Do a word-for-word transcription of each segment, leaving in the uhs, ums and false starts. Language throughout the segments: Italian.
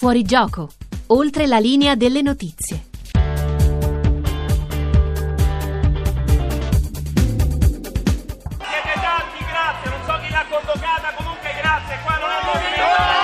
Fuori gioco, oltre la linea delle notizie. Siete tanti, grazie, non so chi l'ha convocata, comunque grazie, qua non è il movimento.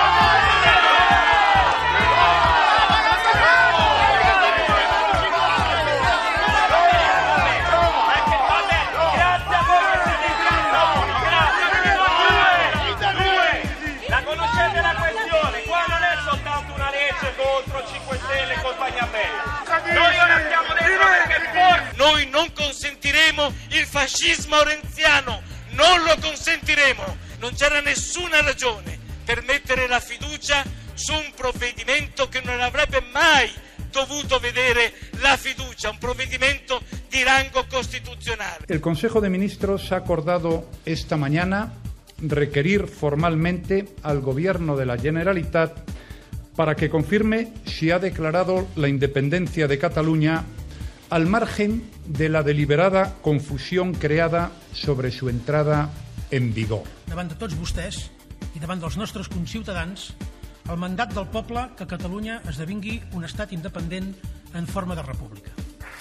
Contro cinque Stelle e compagnia bella. Noi ora stiamo dentro perché forse noi non consentiremo il fascismo renziano, non lo consentiremo. Non c'era nessuna ragione per mettere la fiducia su un provvedimento che non avrebbe mai dovuto vedere la fiducia, un provvedimento di rango constitucional. El Consejo de Ministros ha acordado esta mañana requerir formalmente al Gobierno de la Generalitat para que confirme si ha declarado la independencia de Cataluña al margen de la deliberada confusión creada sobre su entrada en vigor. Davant de tots vostès i davant dels nostres conciutadans, el mandat del poble que Catalunya esdevingui un estat independent en forma de república.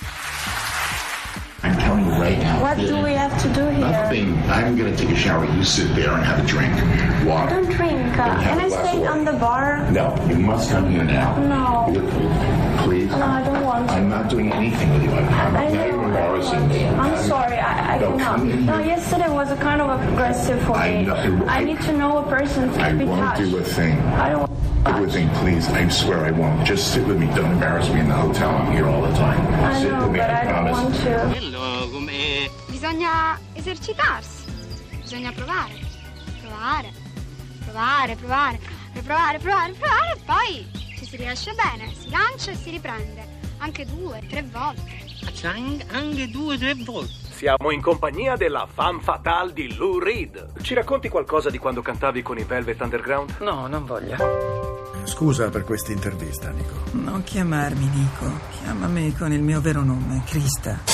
I'm telling you right now. What do we have to do here? Nothing. I'm going to take a shower. You sit there and have a drink. Water. I don't drink. Uh, can I stay on the bar? No, you must come here now. No. Please. No, I don't want to. I'm not doing anything with you. I'm, I'm I very know. embarrassing me. I'm I'm, sorry. I, I no, cannot. come in No, here. yesterday was a kind of aggressive for I me. know. I need to know a person to I be won't touched. do a thing. I don't. Do a thing, please. I swear I won't. Just sit with me. Don't embarrass me in the hotel. I'm here all the time. I sit know, with me. but I I don't promise. want to. Quello come... Bisogna esercitarsi, bisogna provare, provare, provare, provare, provare, provare, provare e poi ci si riesce bene, si lancia e si riprende, anche due, tre volte. Anche due, tre volte. Siamo in compagnia della femme fatale di Lou Reed. Ci racconti qualcosa di quando cantavi con i Velvet Underground? No, non voglio. Scusa per questa intervista, Nico. Non chiamarmi Nico, chiamami con il mio vero nome, Krista.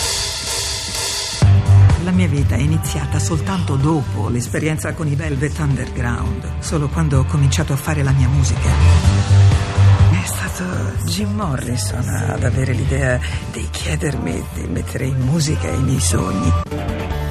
La mia vita è iniziata soltanto dopo l'esperienza con i Velvet Underground, solo quando ho cominciato a fare la mia musica. È stato Jim Morrison ad avere l'idea di chiedermi di mettere in musica i miei sogni.